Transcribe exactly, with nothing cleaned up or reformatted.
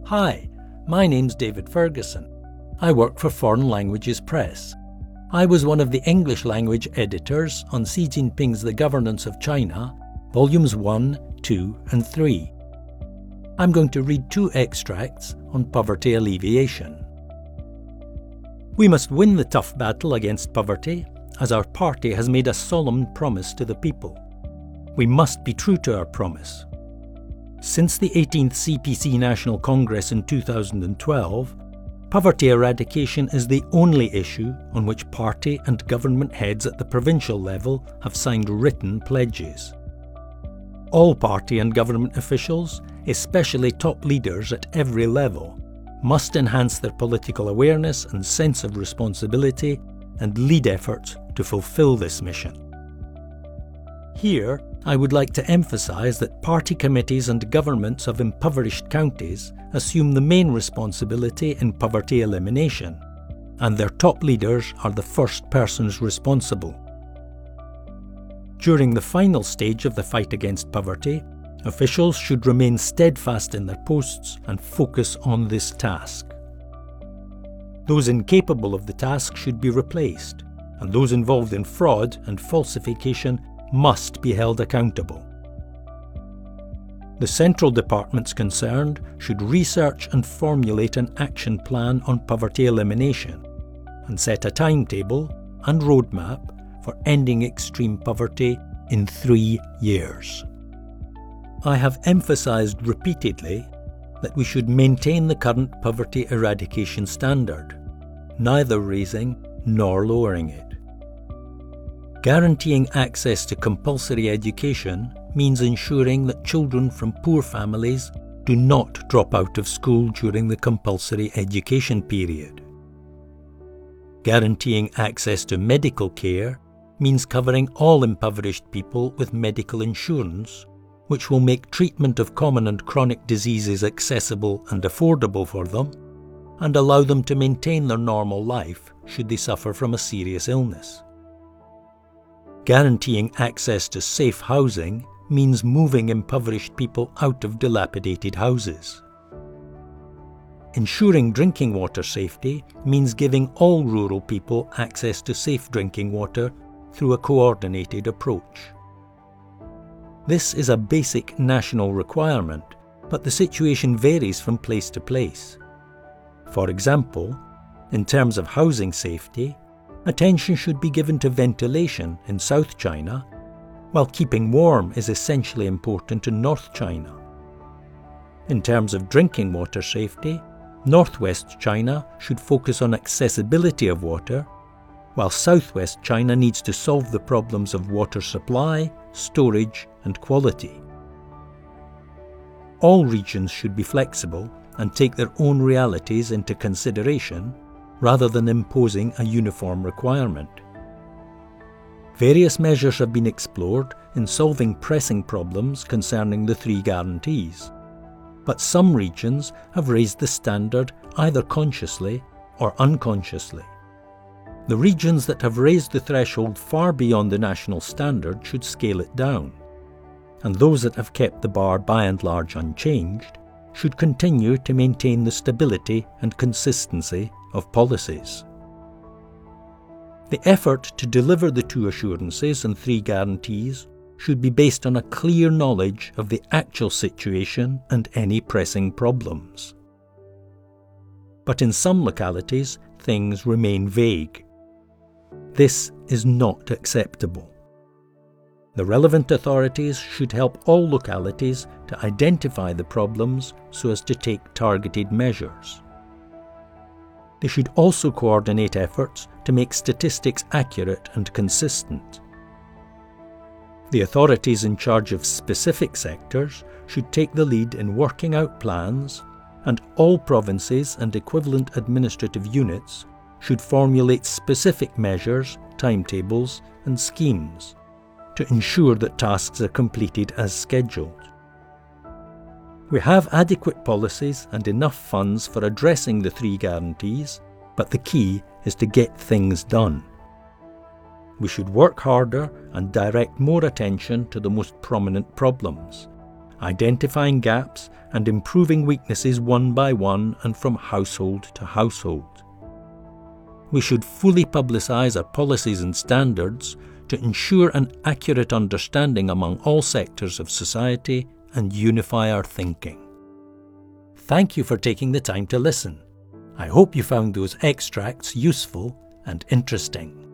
Hi, my name's David Ferguson. I work for Foreign Languages Press. I was one of the English language editors on Xi Jinping's The Governance of China, Volumes one, two and three. I'm going to read two extracts on poverty alleviation. We must win the tough battle against poverty, as our party has made a solemn promise to the people. We must be true to our promise. Since the eighteenth C P C National Congress in two thousand twelve, poverty eradication is the only issue on which party and government heads at the provincial level have signed written pledges. All party and government officials, especially top leaders at every level, must enhance their political awareness and sense of responsibility and lead efforts to fulfil this mission. Here, I would like to emphasise that party committees and governments of impoverished counties assume the main responsibility in poverty elimination, and their top leaders are the first persons responsible. During the final stage of the fight against poverty, officials should remain steadfast in their posts and focus on this task. Those incapable of the task should be replaced, and those involved in fraud and falsification must be held accountable. The central departments concerned should research and formulate an action plan on poverty elimination and set a timetable and roadmap for ending extreme poverty in three years. I have emphasised repeatedly that we should maintain the current poverty eradication standard, neither raising nor lowering it. Guaranteeing access to compulsory education means ensuring that children from poor families do not drop out of school during the compulsory education period. Guaranteeing access to medical care means covering all impoverished people with medical insurance, which will make treatment of common and chronic diseases accessible and affordable for them, and allow them to maintain their normal life should they suffer from a serious illness. Guaranteeing access to safe housing means moving impoverished people out of dilapidated houses. Ensuring drinking water safety means giving all rural people access to safe drinking water through a coordinated approach. This is a basic national requirement, but the situation varies from place to place. For example, in terms of housing safety, attention should be given to ventilation in South China, while keeping warm is essentially important in North China. In terms of drinking water safety, Northwest China should focus on accessibility of water, while Southwest China needs to solve the problems of water supply, storage and quality. All regions should be flexible and take their own realities into consideration, rather than imposing a uniform requirement. Various measures have been explored in solving pressing problems concerning the three guarantees, but some regions have raised the standard either consciously or unconsciously. The regions that have raised the threshold far beyond the national standard should scale it down, and those that have kept the bar by and large unchanged should continue to maintain the stability and consistency of policies. The effort to deliver the two assurances and three guarantees should be based on a clear knowledge of the actual situation and any pressing problems. But in some localities, things remain vague. This is not acceptable. The relevant authorities should help all localities to identify the problems so as to take targeted measures. They should also coordinate efforts to make statistics accurate and consistent. The authorities in charge of specific sectors should take the lead in working out plans, and all provinces and equivalent administrative units should formulate specific measures, timetables and schemes to ensure that tasks are completed as scheduled. We have adequate policies and enough funds for addressing the three guarantees, but the key is to get things done. We should work harder and direct more attention to the most prominent problems, identifying gaps and improving weaknesses one by one and from household to household. We should fully publicise our policies and standards to ensure an accurate understanding among all sectors of society and unify our thinking. Thank you for taking the time to listen. I hope you found those extracts useful and interesting.